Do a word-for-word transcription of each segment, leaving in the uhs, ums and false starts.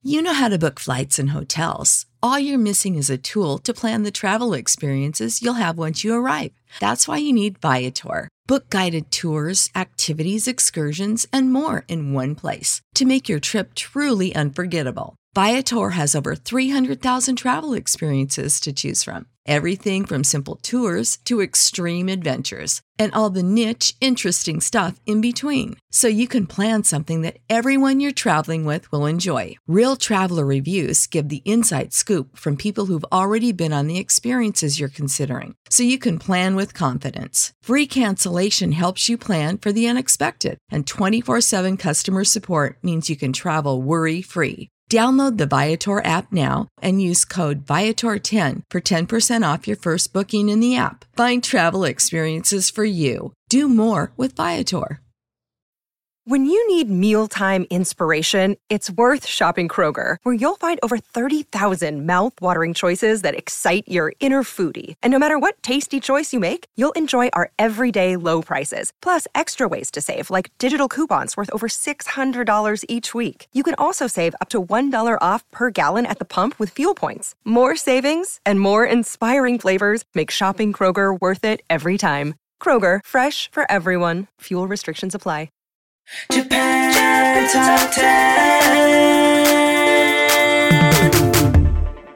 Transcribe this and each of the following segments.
You know how to book flights and hotels. All you're missing is a tool to plan the travel experiences you'll have once you arrive. That's why you need Viator. Book guided tours, activities, excursions, and more in one place to make your trip truly unforgettable. Viator has over three hundred thousand travel experiences to choose from. Everything from simple tours to extreme adventures and all the niche, interesting stuff in between. So you can plan something that everyone you're traveling with will enjoy. Real traveler reviews give the inside scoop from people who've already been on the experiences you're considering. So you can plan with confidence. Free cancellation helps you plan for the unexpected. And twenty-four seven customer support means you can travel worry-free. Download the Viator app now and use code Viator ten for ten percent off your first booking in the app. Find travel experiences for you. Do more with Viator. When you need mealtime inspiration, it's worth shopping Kroger, where you'll find over thirty thousand mouth-watering choices that excite your inner foodie. And no matter what tasty choice you make, you'll enjoy our everyday low prices, plus extra ways to save, like digital coupons worth over six hundred dollars each week. You can also save up to one dollar off per gallon at the pump with fuel points. More savings and more inspiring flavors make shopping Kroger worth it every time. Kroger, fresh for everyone. Fuel restrictions apply. Japan Top ten.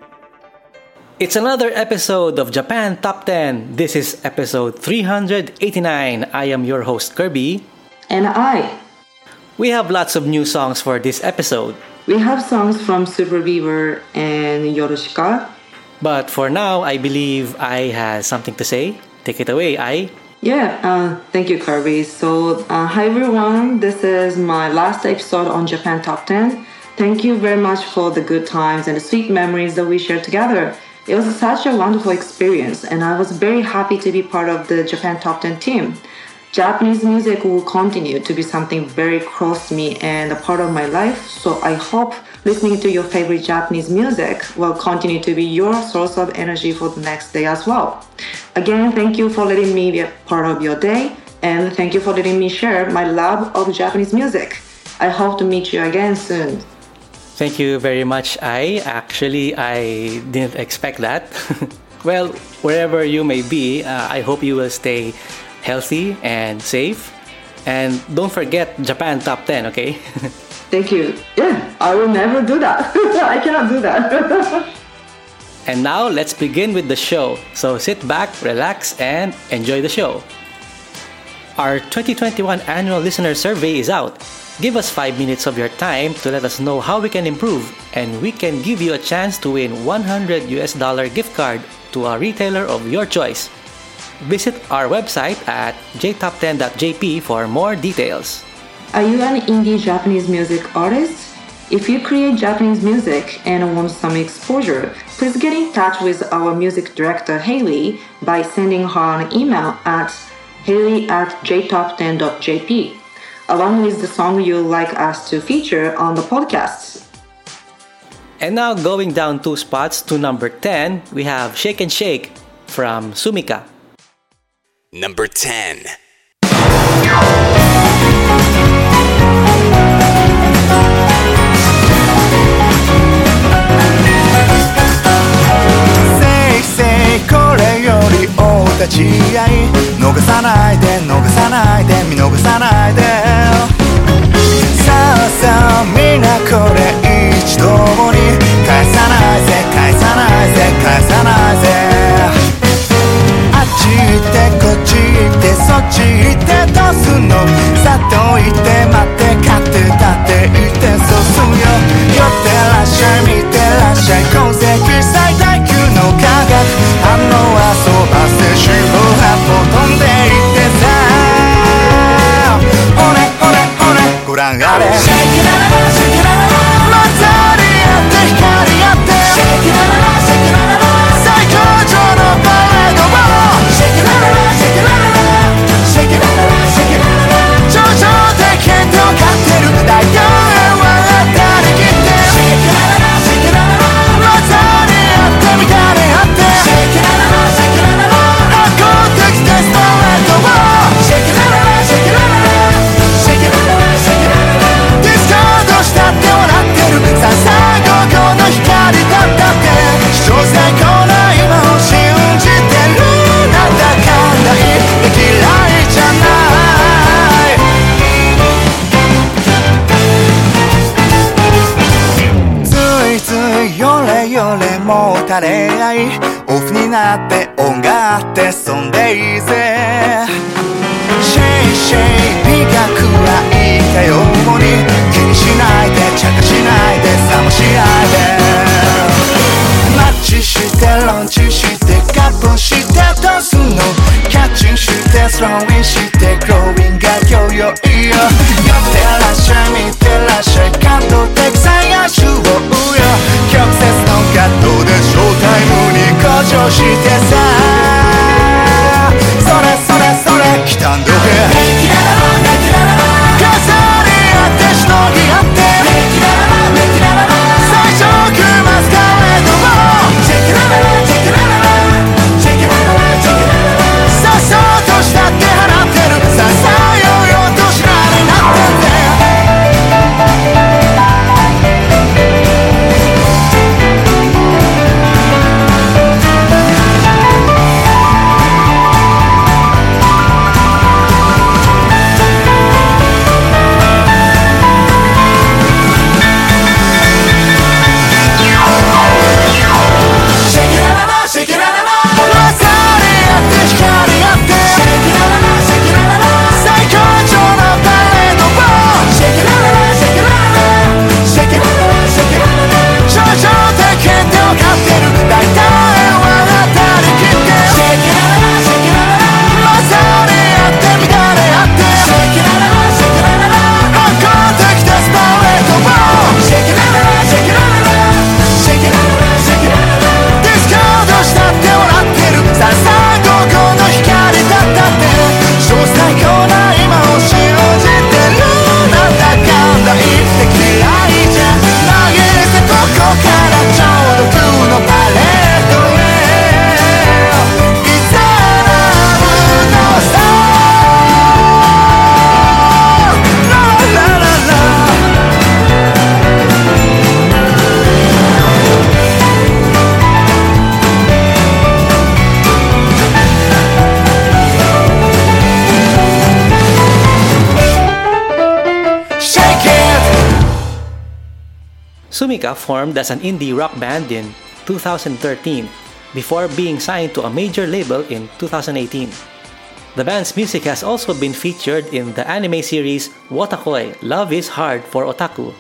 It's another episode of Japan Top ten. This is episode three hundred eighty-nine. I am your host, Kirby. And I. We have lots of new songs for this episode. We have songs from Super Beaver and Yorushika. But for now, I believe I has something to say. Take it away, I. Yeah, uh, thank you, Kirby. So, uh, hi everyone. This is my last episode on Japan Top ten. Thank you very much for the good times and the sweet memories that we shared together. It was such a wonderful experience, and I was very happy to be part of the Japan Top ten team. Japanese music will continue to be something very close to me and a part of my life, so I hope listening to your favorite Japanese music will continue to be your source of energy for the next day as well. Again, thank you for letting me be a part of your day, and thank you for letting me share my love of Japanese music. I hope to meet you again soon. Thank you very much, I. Actually, I didn't expect that. Well, wherever you may be, uh, I hope you will stay healthy and safe. And don't forget Japan Top ten, okay? Thank you. Yeah, I will never do that. I cannot do that. And now, let's begin with the show. So sit back, relax, and enjoy the show. Our twenty twenty-one annual listener survey is out. Give us five minutes of your time to let us know how we can improve, and we can give you a chance to win one hundred U S dollar gift card to a retailer of your choice. Visit our website at j top ten dot j p for more details. Are you an indie Japanese music artist? If you create Japanese music and want some exposure, please get in touch with our music director Hailey by sending her an email at hailey at j top ten dot j p, along with the song you'd like us to feature on the podcast. And now going down two spots to number ten, we have Shake and Shake from Sumika. Number ten. Say, say, これより大立ち合い逃さないで逃さないで見逃さないでさあさあみんなこれ一度に返さないぜ返さないぜ返さないぜあっち行ってこっち行ってそっち行ってどうすんよれもたれ合いオフになって音があってそんでいいぜシェイシェイ美が暗いかように気にしないで茶化しないで冷ましないでマッチしてロンチしてカップしてどうすんのキャッチしてスローインしてグローインがよよいよ寄ってらっしゃい見てらっしゃい感動的最悪手をよ曲折のカットでショータイムに向上してさそれそれそれ来たんどけ重ね合ってしのぎ合って最初組ますかれどもさっそうとしたって払ってるささようよとしらになってて Sumika formed as an indie rock band in two thousand thirteen before being signed to a major label in two thousand eighteen. The band's music has also been featured in the anime series Wotakoi Love is Hard for Otaku,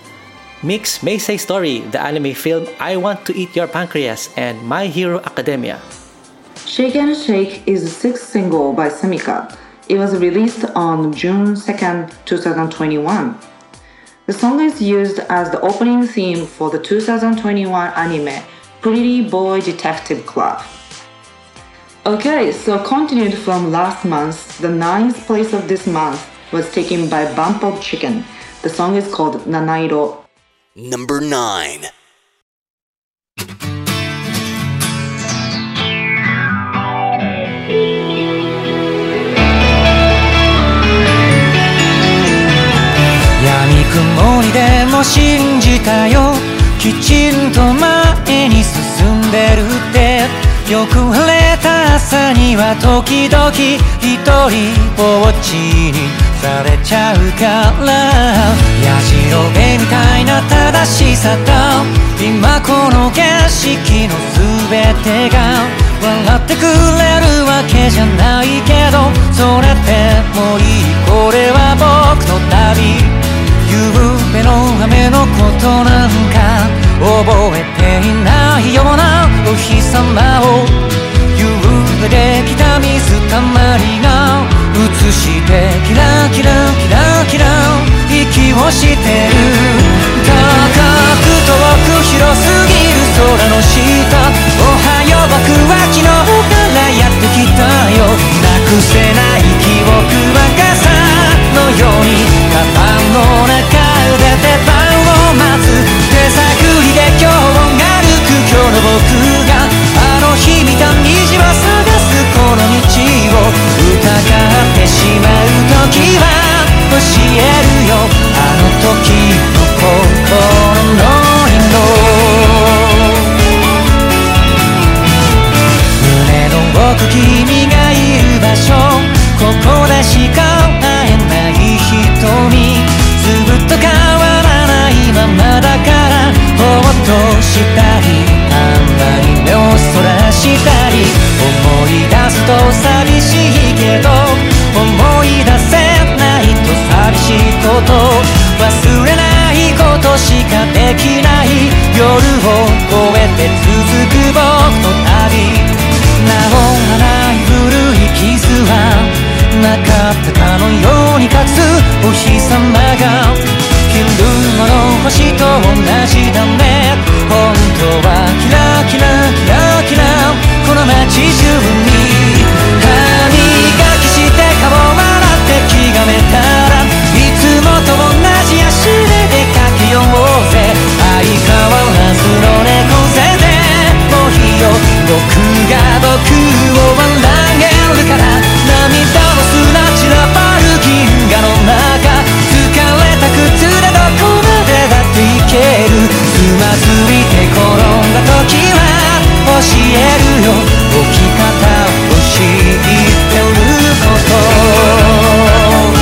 Mix Meisei Story, the anime film I Want to Eat Your Pancreas, and My Hero Academia. Shake and Shake is the sixth single by Sumika. It was released on June second, twenty twenty-one. The song is used as the opening theme for the two thousand twenty-one anime Pretty Boy Detective Club. Okay, so continued from last month, the ninth place of this month was taken by Bump of Chicken. The song is called Nanairo. Number nine. 闇雲にでも信じたよきちんと前に進んでるってよく晴れた朝には時々一人ぼっちにされちゃうからやじろべみたいな正しさと今この景色の全てが笑ってくれるわけじゃないけどそれでもいいこれは僕の旅夕べの雨のことなんか覚えていないようなお日様を夕べできた水たまりが映してキラキラキラキラ息をしてる高く遠く広すぎる空の下おはよう僕は昨日からやってきたよなくせない記憶は傘のようにカバンの中で出番を待つ手探りで今日を歩く今日の僕があの日見た虹を探すこの道を疑ってしまう時は教えるよあの時の心の色胸の奥君がいる場所ここでしか会えない瞳ずっと変わらないままだからほっとしたりしたり思い出すと寂しいけど思い出せないと寂しいこと忘れないことしかできない夜を越えて続く僕の旅名もない古い傷はなかったかのように立つお日様が昼間の星と同じだね本当はキラキラキラキラこの街中に歯磨きして顔洗って気がめたらいつもと同じ足で出かけようぜ相変わらずの猫背でもういいよ僕が僕を笑えるから涙の砂散らばる銀河の中疲れた靴でどこまでだって行けるつまずいて転んだ時は教えるよ置き方を知ってること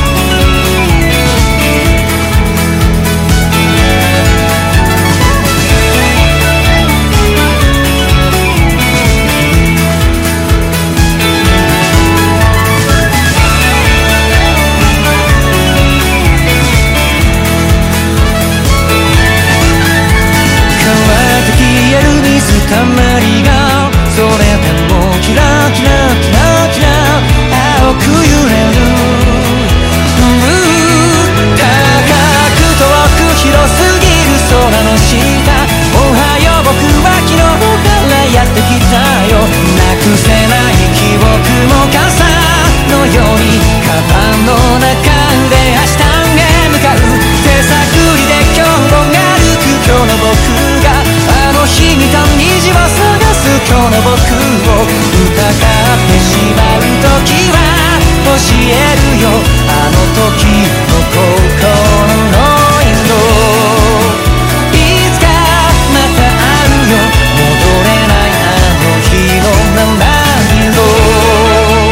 たまりがそれでもキラキラキラキラ青く揺れる高く遠く広すぎる空の下おはよう僕は昨日からやってきたよなくせない記憶も傘のようにカバンの中で明日へ向かう手探りで今日も歩く今日の僕があの日見た虹を探す今日の僕を疑ってしまう時は教えるよあの時の心の色いつかまた会うよ戻れないあの日の七色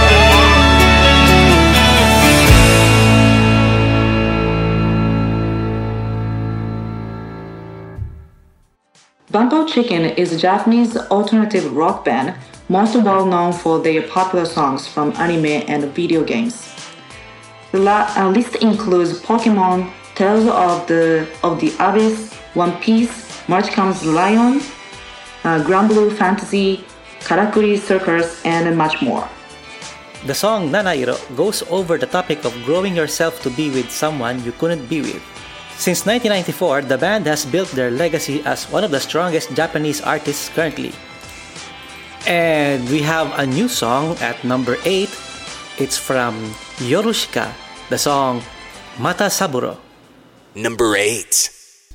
Bumpo Chicken is a Japanese alternative rock band most well known for their popular songs from anime and video games. The la- uh, list includes Pokemon, Tales of the of the Abyss, One Piece, March Comes Lion, uh, Granblue Fantasy, Karakuri Circus, and much more. The song Nanairo goes over the topic of growing yourself to be with someone you couldn't be with. Since nineteen ninety-four, the band has built their legacy as one of the strongest Japanese artists currently. And we have a new song at number eight. It's from Yorushika, the song Mata Saburo. Number eight.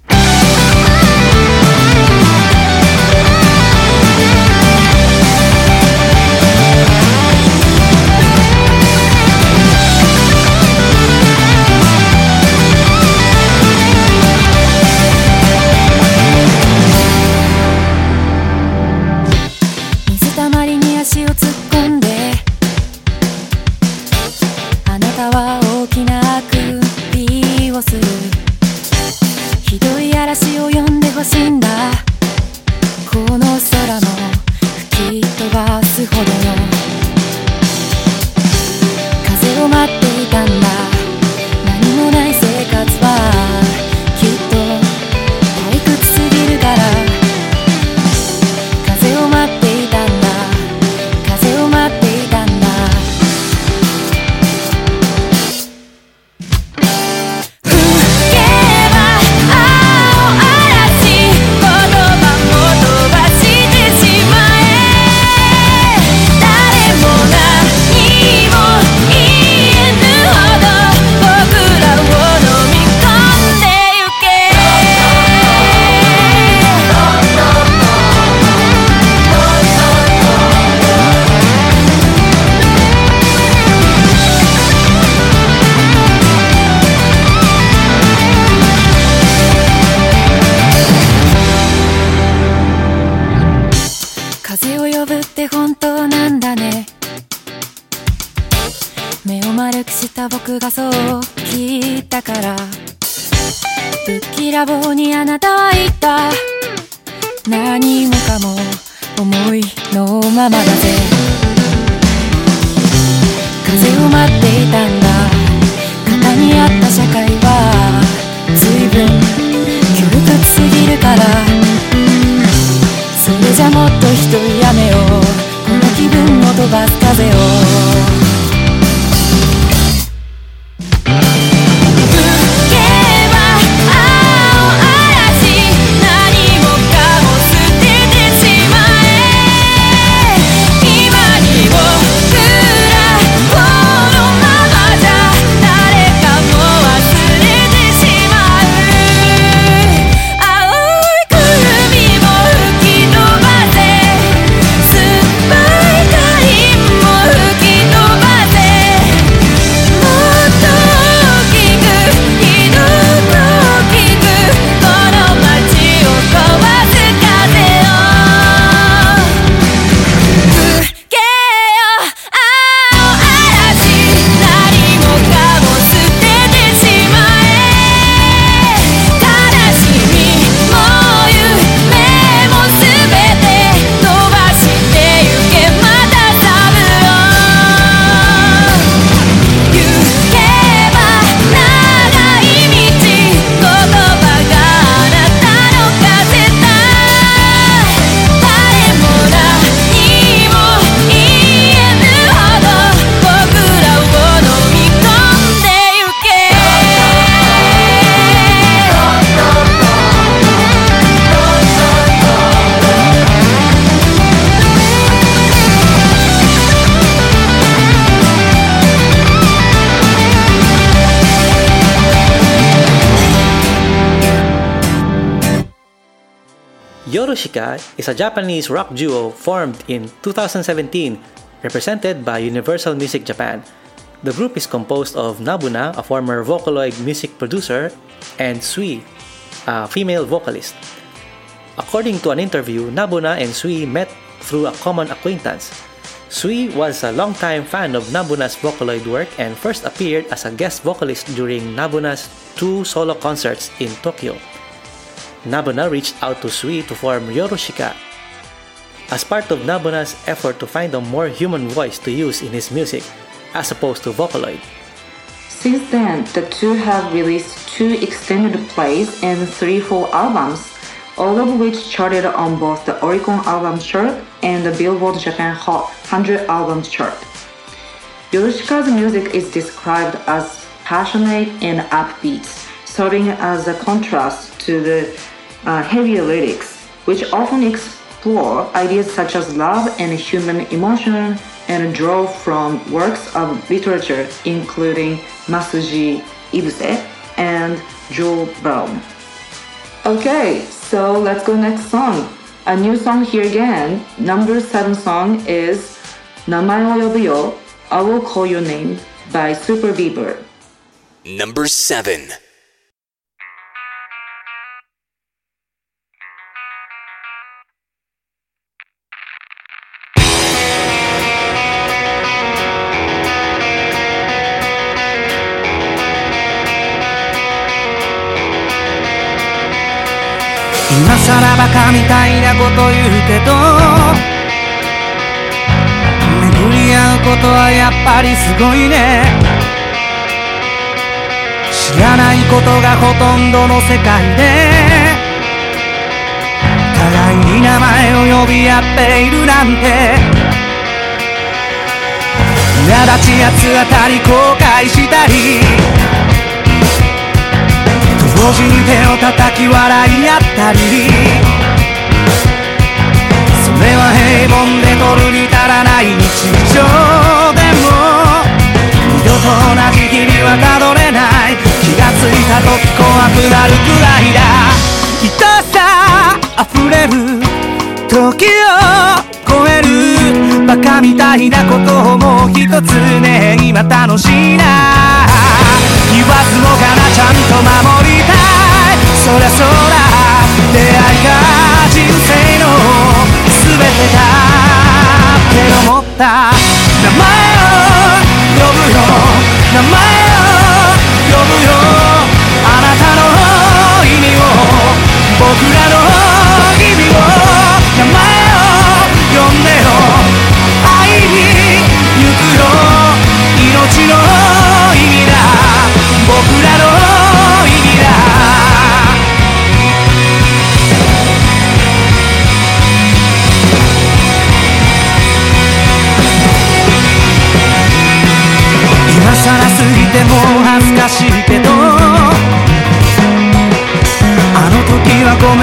した僕がそう聞いたから、ぶっきらぼうにあなたは言った。何もかも思いのままだぜ。風を待っていたんだ。肩にあった社会は随分窮屈すぎるから、それじゃもっと一人やめよう、この気分を飛ばす風を。 Yorushika is a Japanese rock duo formed in two thousand seventeen, represented by Universal Music Japan. The group is composed of Nabuna, a former Vocaloid music producer, and Sui, a female vocalist. According to an interview, Nabuna and Sui met through a common acquaintance. Sui was a longtime fan of Nabuna's Vocaloid work and first appeared as a guest vocalist during Nabuna's two solo concerts in Tokyo. Nabuna reached out to Sui to form Yorushika as part of Nabuna's effort to find a more human voice to use in his music, as opposed to Vocaloid. Since then, the two have released two extended plays and three full albums, all of which charted on both the Oricon Albums Chart and the Billboard Japan Hot one hundred Albums Chart. Yorushika's music is described as passionate and upbeat, serving as a contrast to the uh, heavier lyrics, which often explore ideas such as love and human emotion and draw from works of literature including Masuji Ibuse and Jules Verne. Okay, so let's go next song. A new song here again. Number seven song is Namae wo yobu yo, I Will Call Your Name by Super Bieber. Number seven. 今さらバカみたいなこと言うけど、巡り合うことはやっぱりすごいね。知らないことがほとんどの世界で、互いに名前を呼び合っているなんて、苛立ち八つ当たり後悔したり、同時に手を叩き笑い合ったり、それは平凡で取るに足らない日常でも、二度と同じ日々はたどれない。気がついた時怖くなるくらいだ。愛さあふれる時を超えるバカみたいなことをもう一つね、今楽しいな。言わずもがなちゃんと守りたい。そりゃそうだ、出会いが人生の全てだって思った。名前を呼ぶよ、名前を呼ぶよ、あなたの意味を、僕らの意味を。名前を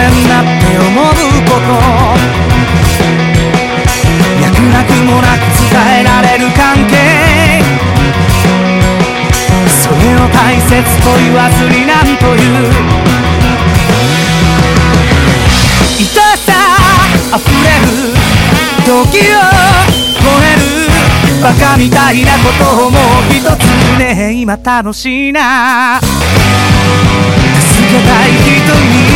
なって思うこと脈絡もなく伝えられる関係それを大切と言わずになんという愛さあふれる時を超えるバカみたいなことをもう一つね今楽しいな助けたい人にずっと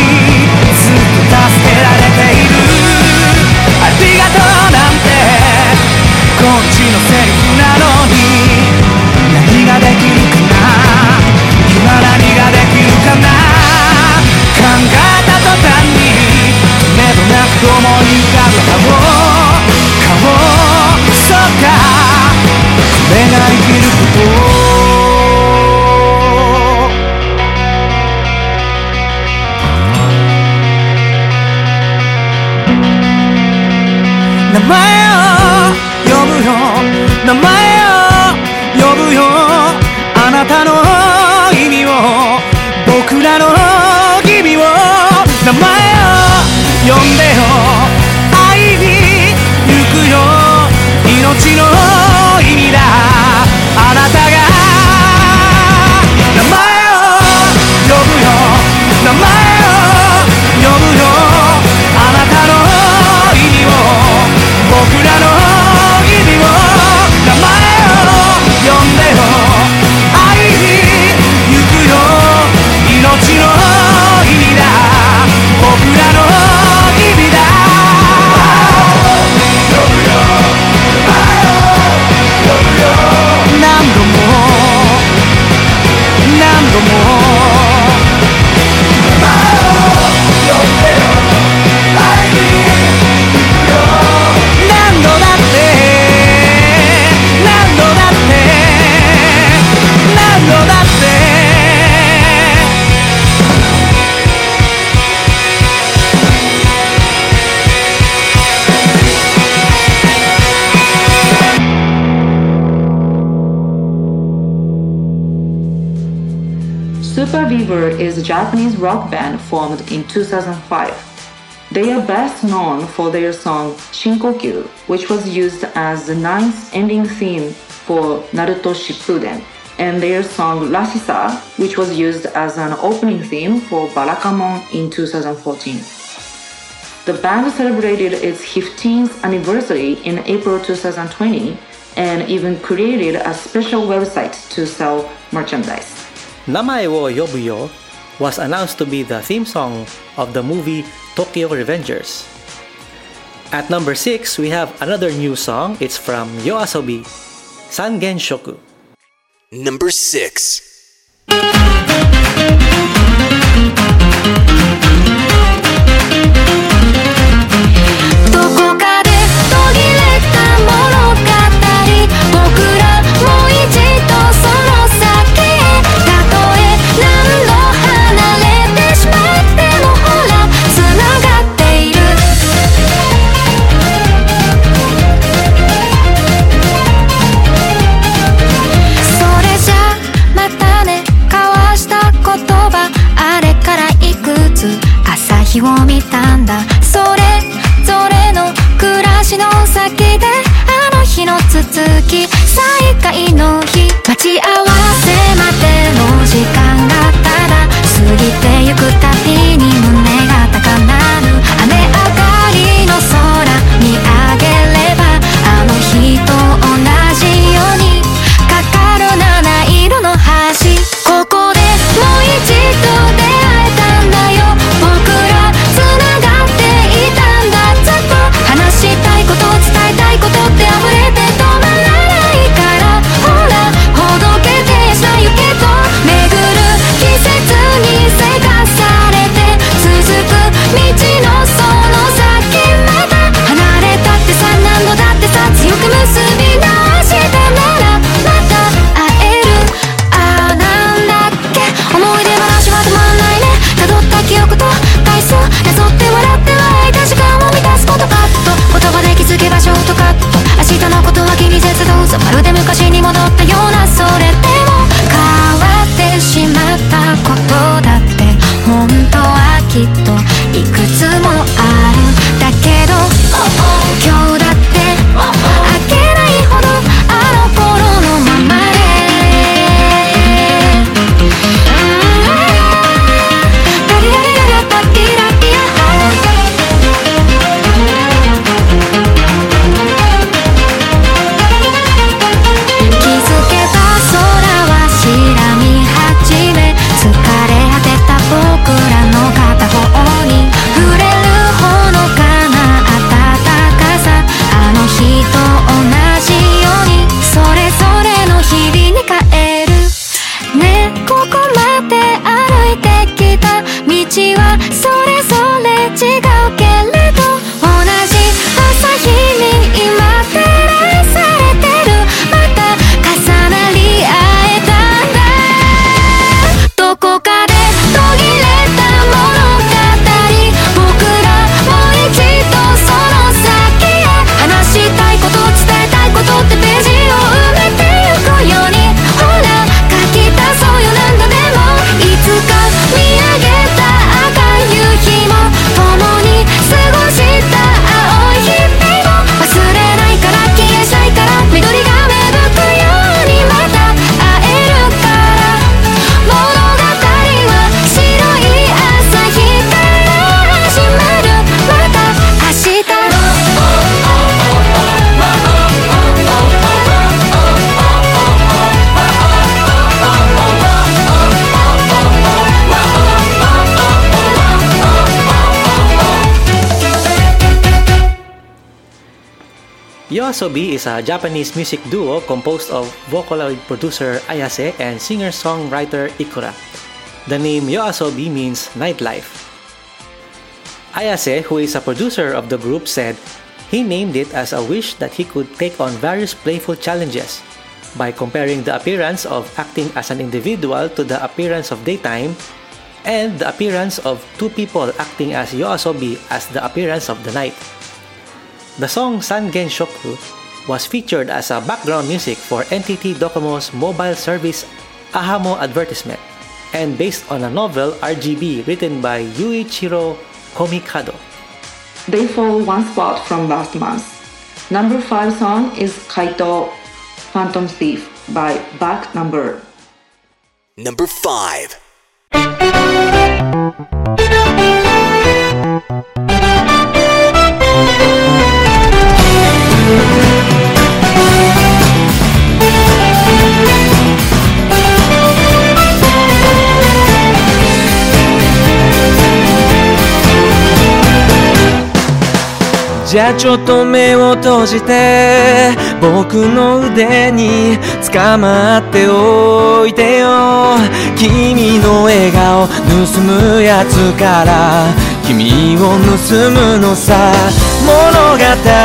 助けられているありがとうなんてこっちのセリフなのに何ができるかな今何ができるかな考えた途端に目どなく思い浮かぶ顔顔そうかこれが生きること名前を呼ぶよ名前を呼ぶよあなたの意味を僕らの意味を名前を呼んでよ会いに行くよ命の意味だあなたが名前を呼ぶよ名前を呼ぶよあなたの意味を僕らの意味を名前を呼んでよ会いに行くよ命の意味だ僕らの意味だ呼ぶよ呼ぶよ何度も何度も SuperBeaver is a Japanese rock band formed in two thousand five. They are best known for their song Shinkokyu, which was used as the ninth ending theme for Naruto Shippuden, and their song Rashisa, which was used as an opening theme for Barakamon in two thousand fourteen. The band celebrated its fifteenth anniversary in April two thousand twenty and even created a special website to sell merchandise. Namae wo Yobuyo was announced to be the theme song of the movie Tokyo Revengers. At number six, we have another new song. It's from YOASOBI, Sangen Shoku. Number six. 日を見たんだそれぞれの暮らしの先であの日の続き再会の日待ち合わせまでの時間がただ過ぎてゆくたびに胸が高鳴る雨上がりの空見上げればあの日と同じようにかかる七色の橋ここでもう一度出会えたんだよ僕らつながっていたんだずっと話したいこと伝えたいことって溢れて止まらないからほらほどけてしなゆけと巡る季節にせかされ YOASOBI is a Japanese music duo composed of Vocaloid producer Ayase and singer-songwriter Ikura. The name YOASOBI means nightlife. Ayase, who is a producer of the group, said he named it as a wish that he could take on various playful challenges by comparing the appearance of acting as an individual to the appearance of daytime and the appearance of two people acting as YOASOBI as the appearance of the night. The song Sangen Shoku was featured as a background music for N T T Docomo's mobile service Ahamo advertisement and based on a novel R G B written by Yuichiro Komikado. They fall one spot from last month. Number five song is Kaito Phantom Thief by Back Number. Number five. じゃあちょっと目を閉じて僕の腕に捕まっておいてよ君の笑顔盗むやつから君を盗むのさ物語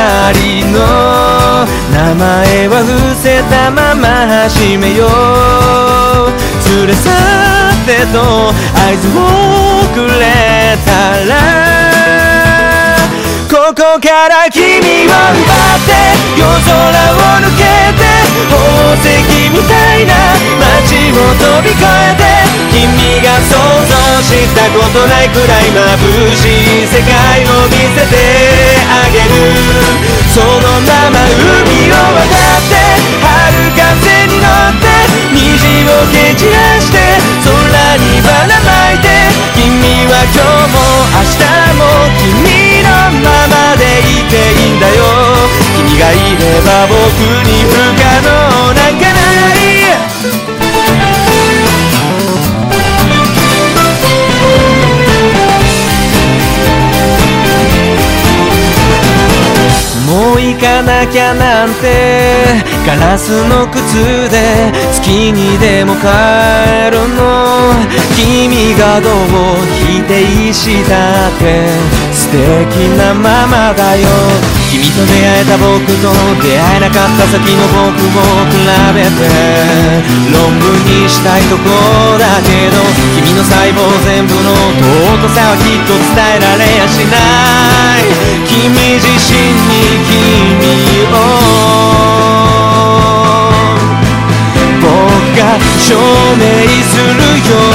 の名前は伏せたまま始めよう連れ去ってと合図をくれたらここから君を奪って夜空を抜けて宝石みたいな街を飛び越えて君が想像したことないくらい眩しい世界を見せてあげるそのまま海を渡って春風に乗って虹を蹴散らして空にばらまいて君は今日も明日も君のままでいていいんだよ君がいれば僕に不可能なんかないもう行かなきゃなんてガラスの靴で月にでも帰るの君がどう否定したって素敵なままだよ君と出会えた僕と出会えなかった先の僕を比べて論文にしたいとこだけど君の細胞全部の尊さはきっと伝えられやしない君自身に君を僕が証明するよ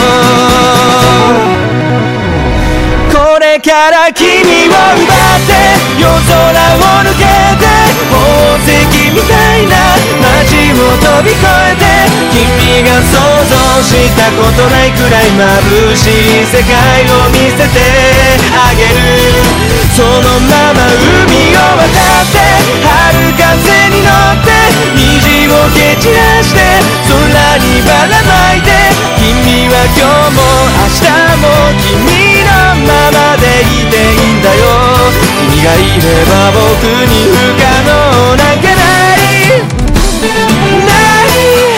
これから君を奪って夜空を抜けて宝石みたいな街を飛び越えて君が想像したことないくらい眩しい世界を見せてあげるそのまま海を渡って春風に乗って虹を蹴散らして空にばらまいて君は今日も明日も君のままでいていいんだよ君がいれば僕に不可能なんかないない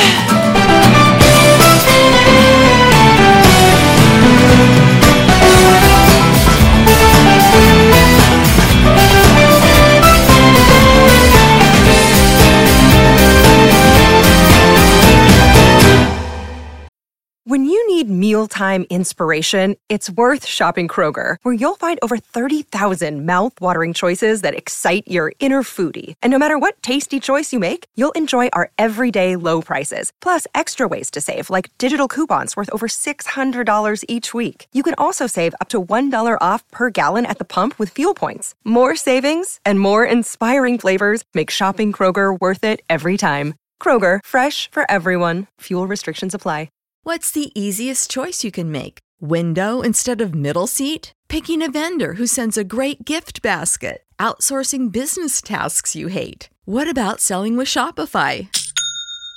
When you need mealtime inspiration, it's worth shopping Kroger, where you'll find over thirty thousand mouth-watering choices that excite your inner foodie. And no matter what tasty choice you make, you'll enjoy our everyday low prices, plus extra ways to save, like digital coupons worth over six hundred dollars each week. You can also save up to one dollar off per gallon at the pump with fuel points. More savings and more inspiring flavors make shopping Kroger worth it every time. Kroger, fresh for everyone. Fuel restrictions apply. What's the easiest choice you can make? Window instead of middle seat? Picking a vendor who sends a great gift basket? Outsourcing business tasks you hate? What about selling with Shopify?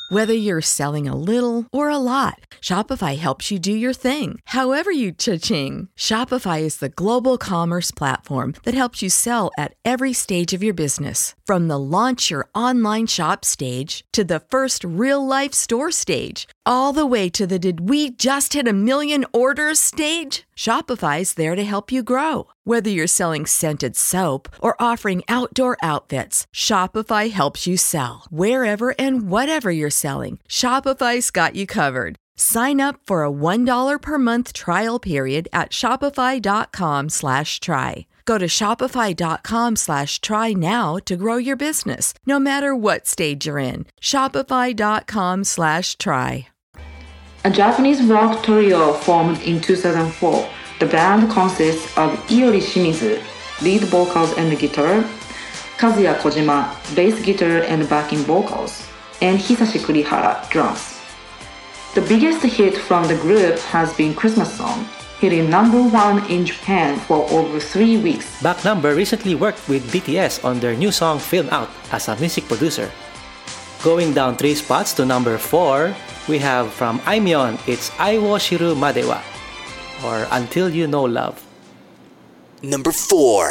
Whether you're selling a little or a lot, Shopify helps you do your thing, however you cha-ching. Shopify is the global commerce platform that helps you sell at every stage of your business. From the launch your online shop stage to the first real-life store stage, all the way to the did we just hit a million orders stage. Shopify's there to help you grow. Whether you're selling scented soap or offering outdoor outfits, Shopify helps you sell. Wherever and whatever you're selling, Shopify's got you covered. Sign up for a one dollar per month trial period at shopify.com slash try. Go to shopify.com slash try now to grow your business, no matter what stage you're in. Shopify.com slash try. A Japanese rock trio formed in two thousand four. The band consists of Iori Shimizu, lead vocals and guitar, Kazuya Kojima, bass guitar and backing vocals, and Hisashi Kurihara, drums. The biggest hit from the group has been Christmas Song, hitting number one in Japan for over three weeks. Back Number recently worked with B T S on their new song Film Out as a music producer. Going down three spots to number four, we have from Aimyon, it's Ai wo shiru made wa, or Until You Know Love. Number four.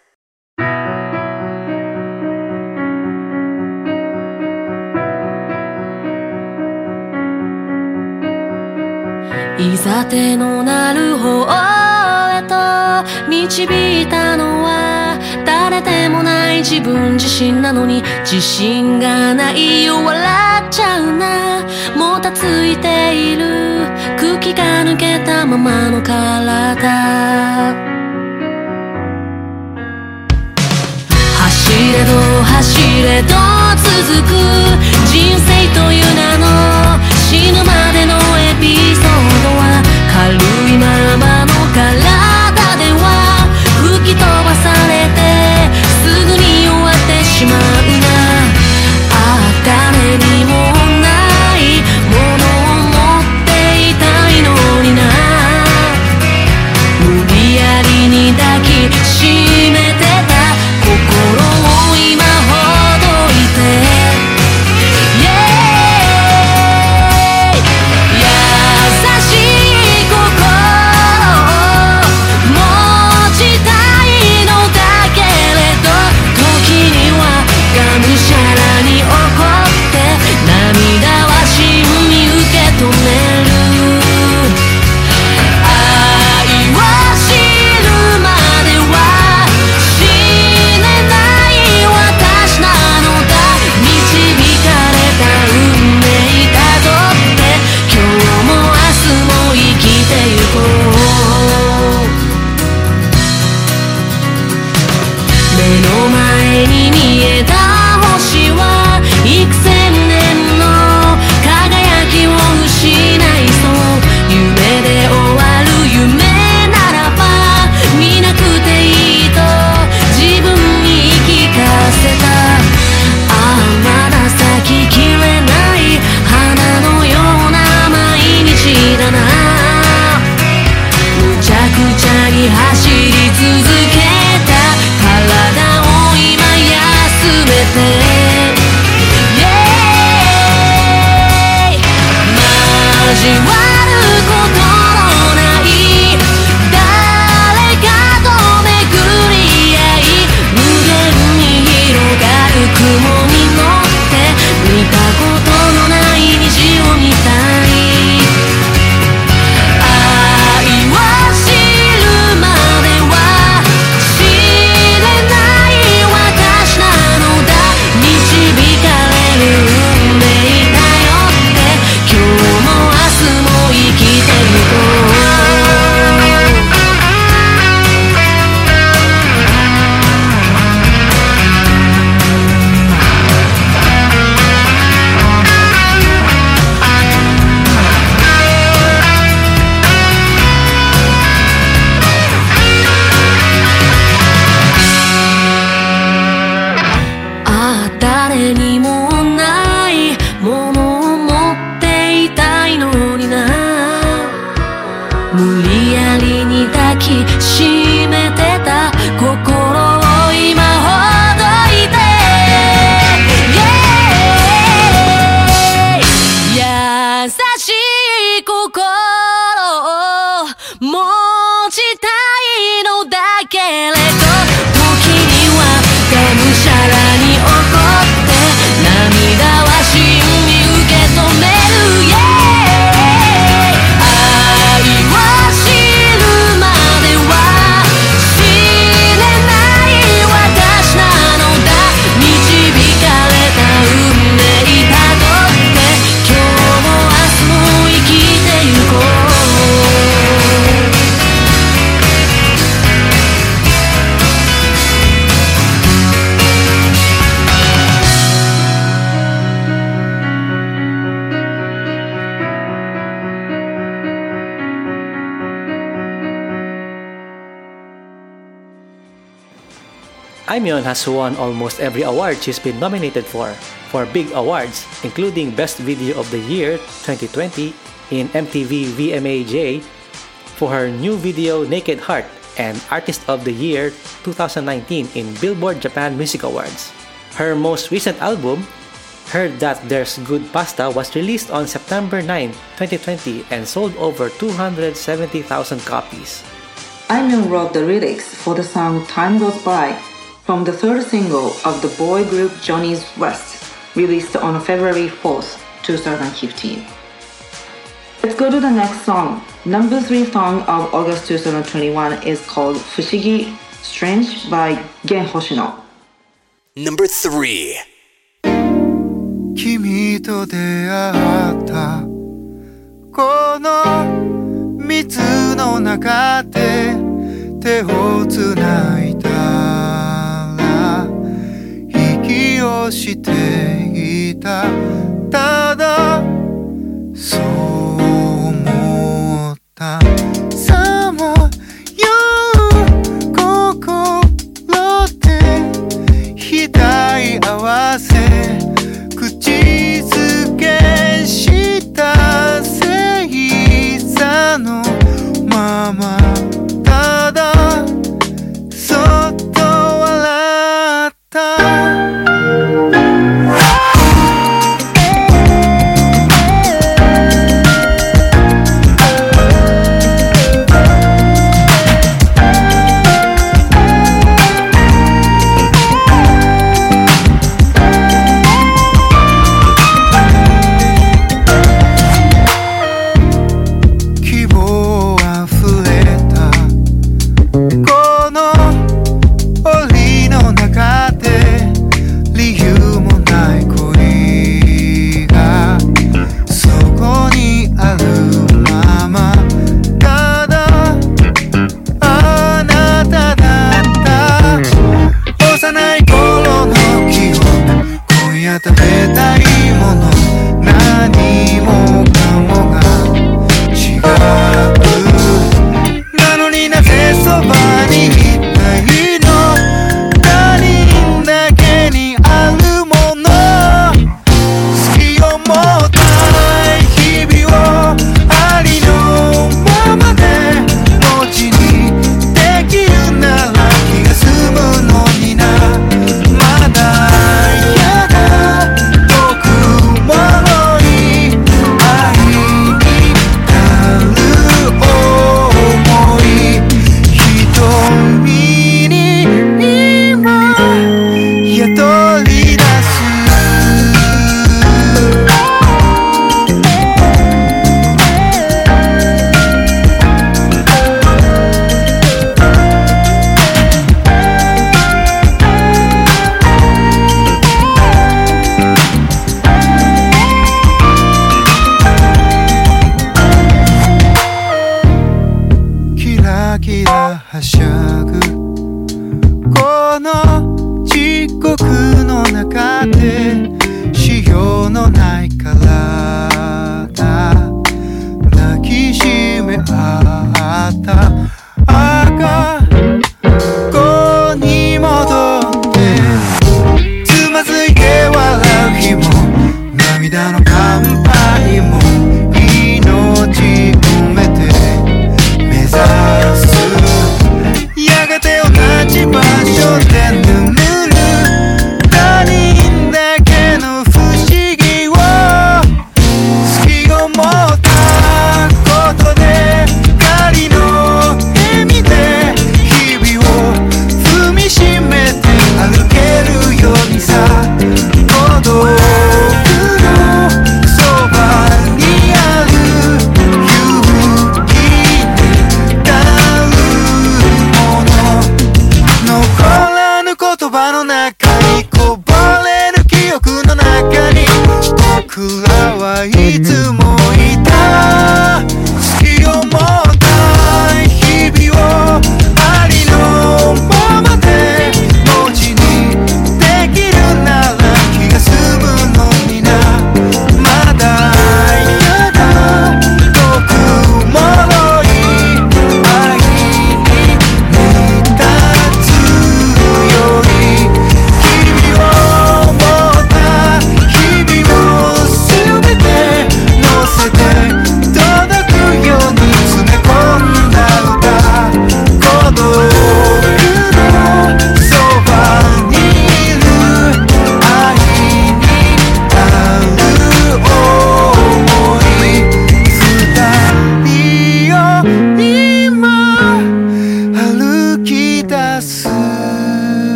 いざてのなる方へと導いたのは誰でもない自分自身なのに自信がないよ笑っちゃうなもたついている空気が抜けたままの体走れど走れど続く人生という名の死ぬまでのエピソードは軽いままの体では吹き飛ばされてすぐに終わってしまうなああ誰にもないものを持っていたいのにな無理やりに抱きしめてた心を今ほどいても明日も Aimyon has won almost every award she's been nominated for, for big awards, including Best Video of the Year twenty twenty in M T V V M A J for her new video Naked Heart, and Artist of the Year twenty nineteen in Billboard Japan Music Awards. Her most recent album, Heard That There's Good Pasta, was released on September ninth, twenty twenty and sold over two hundred seventy thousand copies. Aimyon wrote the lyrics for the song Time Goes By from the third single of the boy group Johnny's West, released on February fourth, twenty fifteen. Let's go to the next song. Number three song of August twenty twenty-one is called Fushigi Strange by Gen Hoshino. Number three. 君と出会ったこの水の中で手をつないだら息をしていたただそう思ったさまよう心で額合わせ口づけした星座のままただそっと笑った食べたいもの何もかもが違うなのになぜそばにいたいの他人だけにあるもの好きを持った日々をありのままで持ちにできるなら気が済むのになまだはしゃぐこの地獄の中で潮のない体抱きしめ合った赤子に戻ってつまずいて笑う日も涙の乾杯も命込めて目指すやがて同じ場所で眠る他人だけの不思議を好きを持ったことで仮の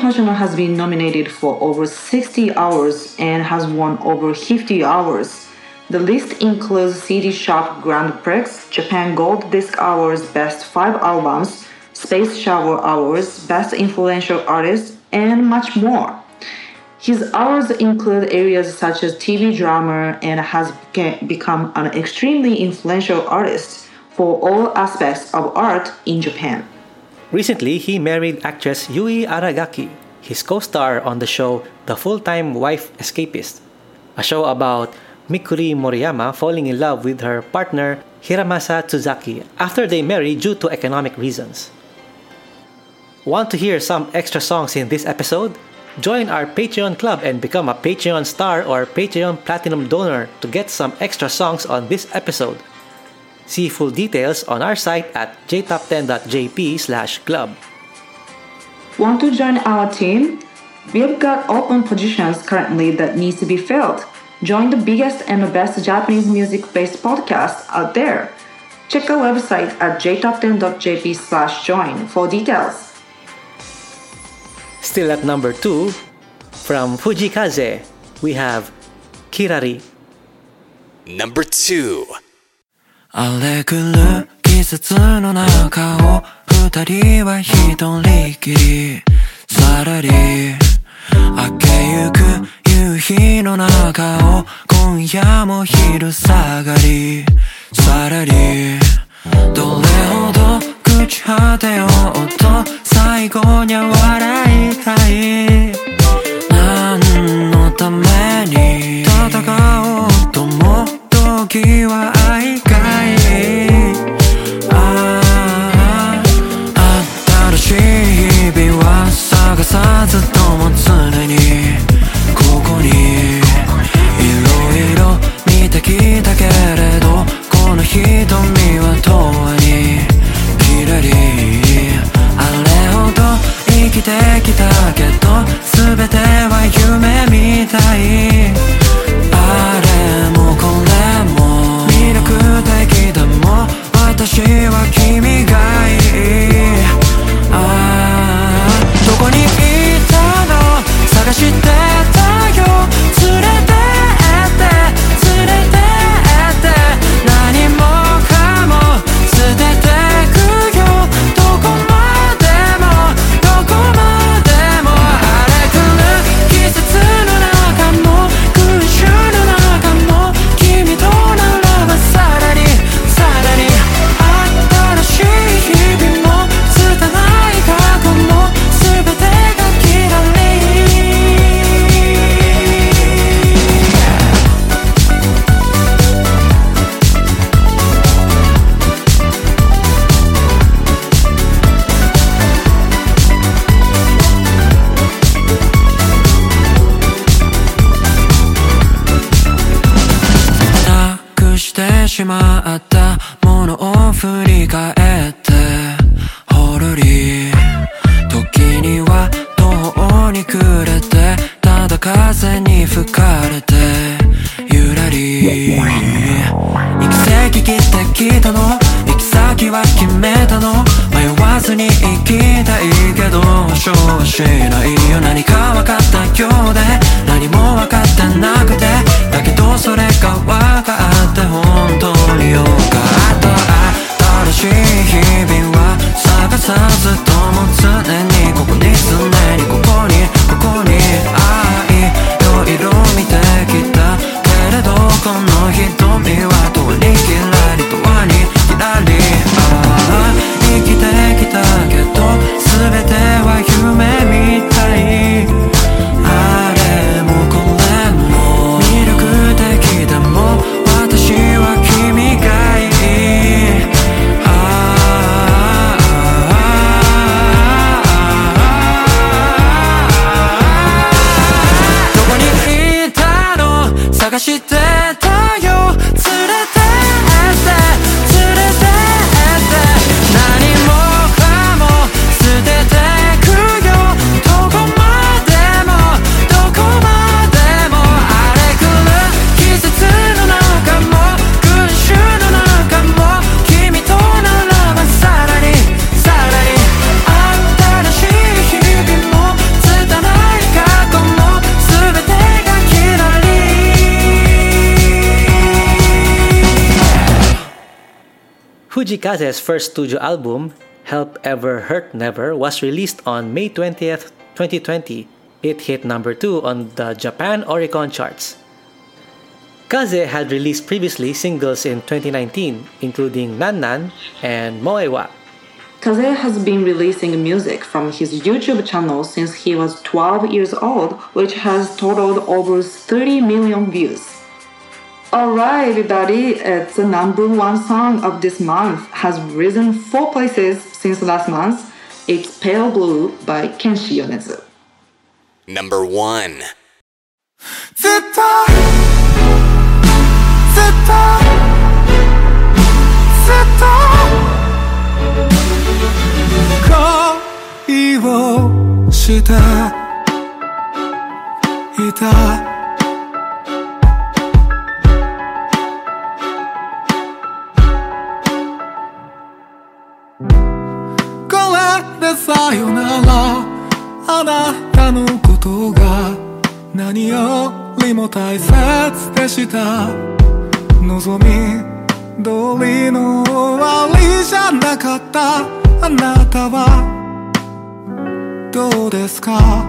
Hoshino has been nominated for over sixty awards and has won over fifty awards. The list includes C D Shop Grand Prix, Japan Gold Disc Awards Best five Albums, Space Shower Awards Best Influential Artist, and much more. His awards include areas such as T V drama and has become an extremely influential artist for all aspects of art in Japan. Recently, he married actress Yui Aragaki, his co-star on the show The Full-Time Wife Escapist, a show about Mikuri Moriyama falling in love with her partner Hiramasa Tsuzaki after they marry due to economic reasons. Want to hear some extra songs in this episode? Join our Patreon club and become a Patreon star or Patreon Platinum donor to get some extra songs on this episode. See full details on our site at j top ten dot j p slash club. Want to join our team? We have got open positions currently that needs to be filled. Join the biggest and the best Japanese music-based podcast out there. Check our website at j top ten dot j p slash join for details. Still at number two, from Fujikaze, we have Kirari. Number two. 荒れ狂う季節の中を二人は一人きりさらり明けゆく夕日の中を今夜も昼下がりさらりどれほど朽ち果てようと最後には笑いたい何のために戦おうとも時は愛かいああ新しい日々は探さずとも常にここにいろいろ見てきたけれどこの瞳は永遠にきらりあれほど生きてきたけど全ては夢みたいあれもこれも魅力的だも私は君がいいああどこにいたの探してたよ連れてって連れてって何もかも捨ててくよどこまでもどこまでも荒れ狂う季節の中も空襲の中も君とならばさらにさらに新しい日々も拙い過去も全てがきらりなくしてしまったものを振り返ってほろり時には途方に暮れてただ風に吹かれてゆらり行き先切ってきたの行き先は決めたの迷わずに行きたいけど保証はしないよ何か分かったようで何も分かってなくてだけどそれが分かって本当によかった新しい日々は探さずとも常にここに常にここにここに愛いろいろ見てきたけれどこの瞳は遠にきらり遠にきらりああ生きてきたけど全ては夢みたいあれもこれも魅力的でも私は君がいい Fujikaze's first studio album, Help Ever Hurt Never, was released on May twentieth, twenty twenty. It hit number two on the Japan Oricon charts. Kaze had released previously singles in twenty nineteen, including Nan Nan and Moewa. Kaze has been releasing music from his YouTube channel since he was twelve years old, which has totaled over thirty million views. Alright everybody, it's the number one song of this month, has risen four places since last month. It's Pale Blue by Kenshi Yonezu. Number one. ずっとずっとずっと恋をしていたこれでさよならあなたのことが何よりも大切でした望み通りの終わりじゃなかったあなたはどうですか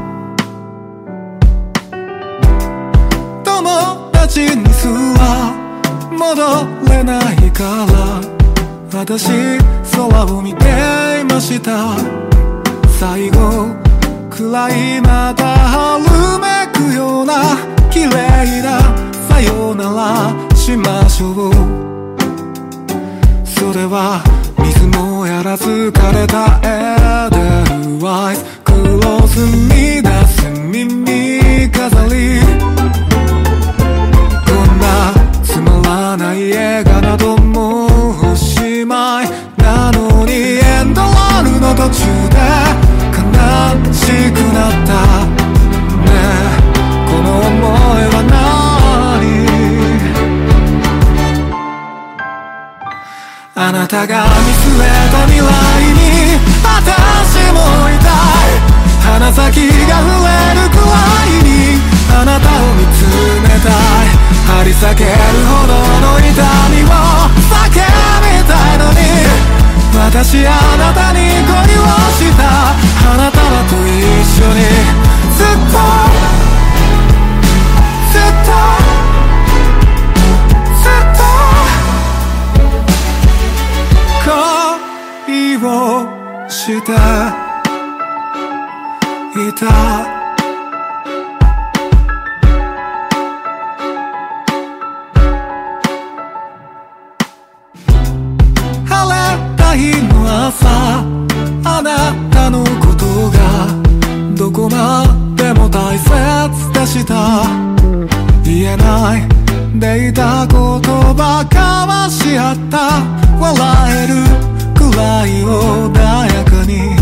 友達にすら戻れないから私空を見ていました最後くらいまた春めくような綺麗なさよならしましょうそれは水もやらず枯れたエデルワイスクローズに出す耳飾りこんなつまらない映画などもうおしまいなのにエンドロールの途中で悲しくなったねえこの想いは何あなたが見据えた未来に私もいたい鼻先が触れるくらいにあなたを見つめたい張り裂けるほどの痛みを叫びたいのに私あなたに恋をした花束と一緒にずっとずっとずっと恋をしていた日の朝あなたのことがどこまでも大切でした言えないでいた言葉交わし合った笑えるくらい穏やかに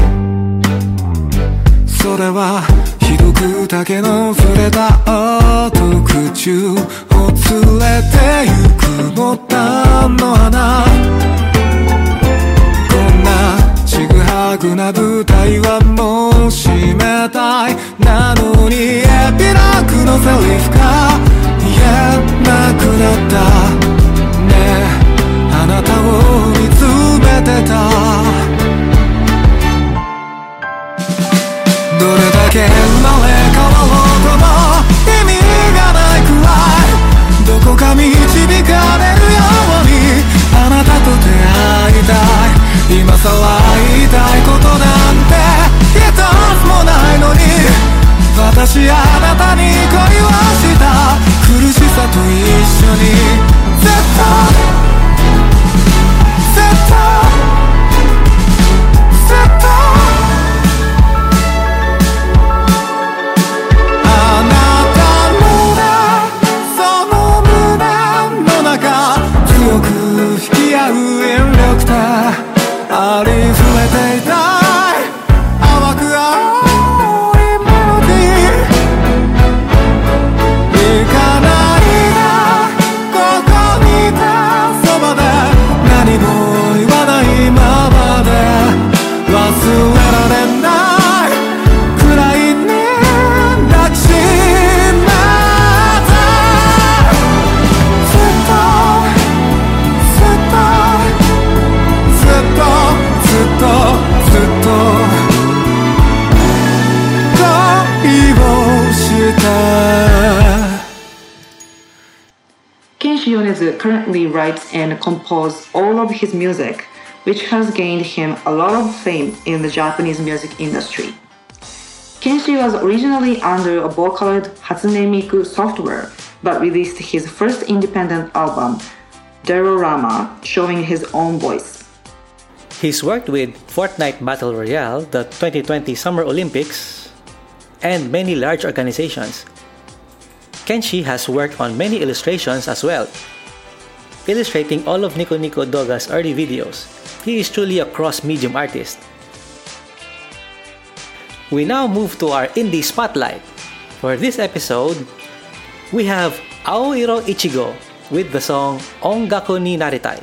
それはひどく竹の触れた後空中を連れてゆくボタンの花ちぐはぐな舞台はもう閉めたいなのにエピローグのセリフが言えなくなったねえあなたを見つめてたどれだけ生まれ変わろうとも意味がないくらいどこか導かれるようにあなたと出会いたい今さら言いたいことなんて一つもないのに私あなたに恋をした苦しさと一緒にずっとずっとずっとあなたのその胸の中強く引き合う引力でありふれていたい淡く青いメロディー行かないでここにいたそばで何も言わないままで忘れられないくらいに抱きしめてずっとずっと currently writes and composes all of his music, which has gained him a lot of fame in the Japanese music industry. Kenshi was originally under a Vocaloid Hatsune Miku software, but released his first independent album, Derorama, showing his own voice. He's worked with Fortnite Battle Royale, the twenty twenty Summer Olympics, and many large organizations. Kenshi has worked on many illustrations as well, illustrating all of Nico Nico Doga's early videos. He is truly a cross-medium artist. We now move to our indie spotlight. For this episode, we have Aoiro Ichigo with the song Ongaku ni Naritai.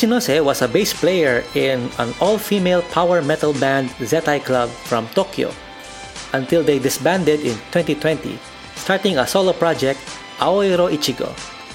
Ichinose was a bass player in an all-female power metal band Zettai Club from Tokyo until they disbanded in twenty twenty, starting a solo project, Aoiro Ichigo.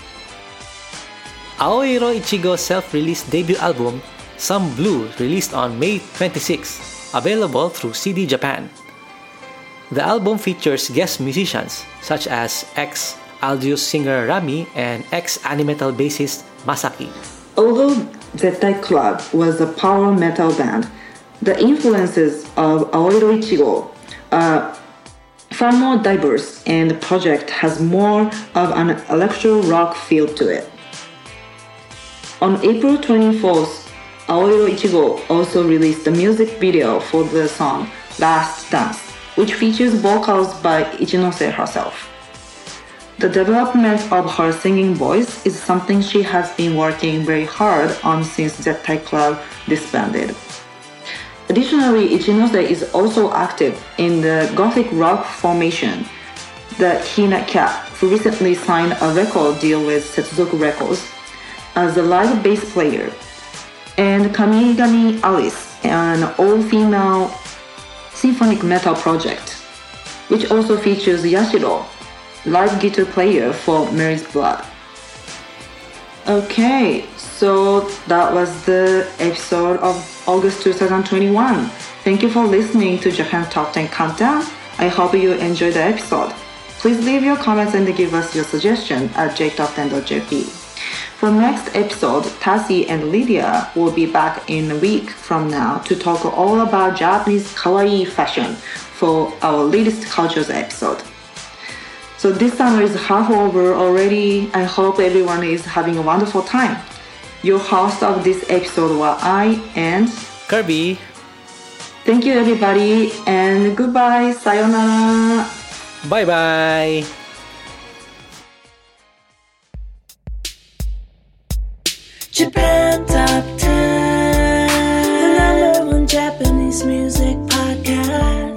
Aoiro Ichigo's self-released debut album, Some Blue, released on May twenty-sixth, available through C D Japan. The album features guest musicians such as ex-Aldius singer Rami and ex-Animetal bassist Masaki. Although Zettai Club was a power metal band, the influences of Aoiro Ichigo are far more diverse, and the project has more of an electro rock feel to it. On April twenty-fourth, Aoiro Ichigo also released a music video for the song Last Dance, which features vocals by Ichinose herself. The development of her singing voice is something she has been working very hard on since Zettai Club disbanded. Additionally, Ichinose is also active in the gothic rock formation, the Hina Cat, who recently signed a record deal with Setsuzoku Records as a live bass player, and Kamigami Alice, an all-female symphonic metal project, which also features Yashiro, live guitar player for Mary's Blood. Okay, so that was the episode of August twenty twenty-one. Thank you for listening to Japan Top ten Countdown. I hope you enjoyed the episode. Please leave your comments and give us your suggestion at j top ten dot j p. For next episode, Tassie and Lydia will be back in a week from now to talk all about Japanese kawaii fashion for our latest cultures episode. So this summer is half over already. I hope everyone is having a wonderful time. Your host of this episode were I and Kirby. Thank you everybody and goodbye. Sayonara. Bye bye. Japan Top ten, the number one Japanese music podcast.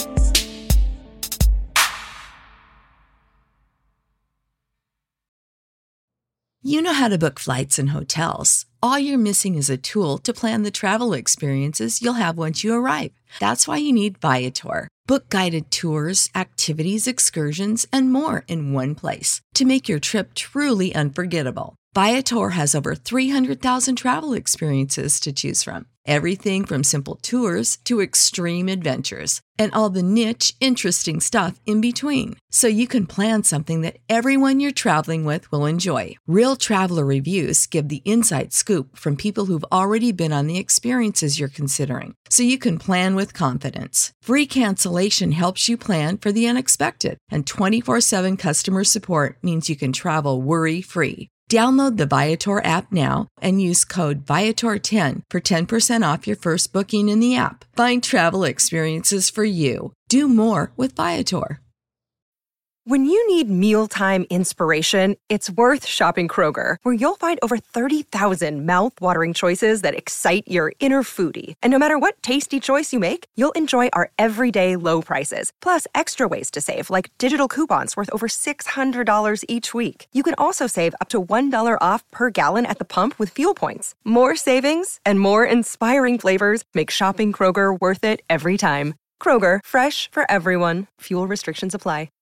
You know how to book flights and hotels. All you're missing is a tool to plan the travel experiences you'll have once you arrive. That's why you need Viator. Book guided tours, activities, excursions, and more in one place to make your trip truly unforgettable. Viator has over three hundred thousand travel experiences to choose from. Everything from simple tours to extreme adventures and all the niche, interesting stuff in between. So you can plan something that everyone you're traveling with will enjoy. Real traveler reviews give the inside scoop from people who've already been on the experiences you're considering. So you can plan with confidence. Free cancellation helps you plan for the unexpected. And twenty-four seven customer support means you can travel worry-free. Download the Viator app now and use code Viator ten for ten percent off your first booking in the app. Find travel experiences for you. Do more with Viator. When you need mealtime inspiration, it's worth shopping Kroger, where you'll find over thirty thousand mouth-watering choices that excite your inner foodie. And no matter what tasty choice you make, you'll enjoy our everyday low prices, plus extra ways to save, like digital coupons worth over six hundred dollars each week. You can also save up to one dollar off per gallon at the pump with fuel points. More savings and more inspiring flavors make shopping Kroger worth it every time. Kroger, fresh for everyone. Fuel restrictions apply.